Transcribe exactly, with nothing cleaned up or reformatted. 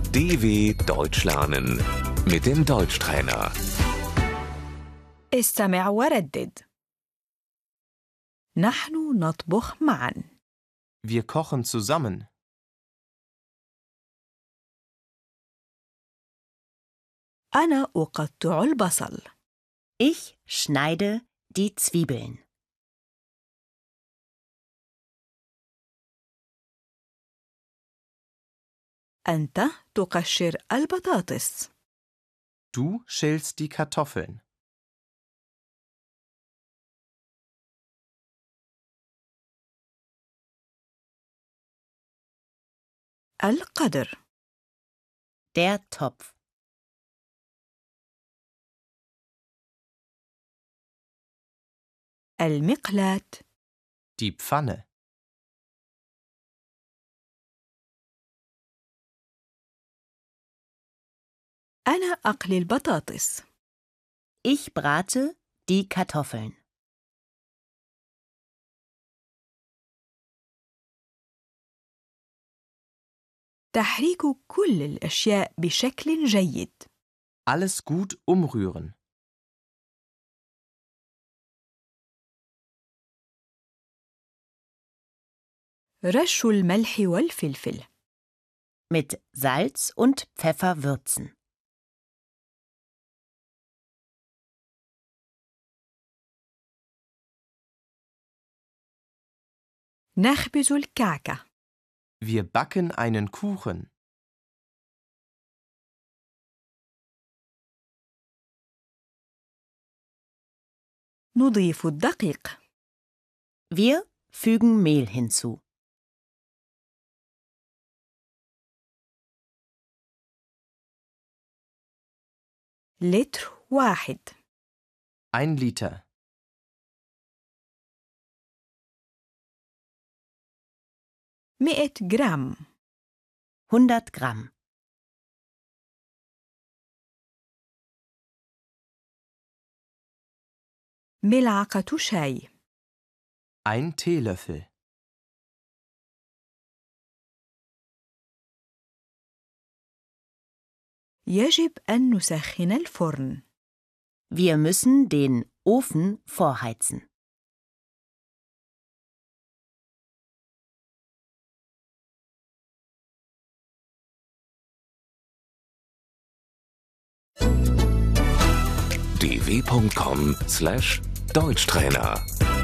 D W Deutsch lernen mit dem Deutschtrainer. استمع وردد. نحن نطبخ معا. Wir kochen zusammen. أنا أقطع البصل. Ich schneide die Zwiebeln. أنت تقشر البطاطس. Du schälst die Kartoffeln. القدر. Der Topf. المقلاة. Die Pfanne. أنا أقلي البطاطس. Ich brate die Kartoffeln. تحريك كل الأشياء بشكل جيد. Alles gut umrühren. رش الملح والفلفل. Mit Salz und Pfeffer würzen. نخبز الكعكة. Wir backen einen Kuchen. نضيف الدقيق. Wir fügen Mehl hinzu. لتر واحد. Ein Liter. مئة جرام. hundert Gramm. ملعقة شاي. Ein Teelöffel. يجب أن نسخن الفرن. Wir müssen den Ofen vorheizen. d w punkt com slash Deutschtrainer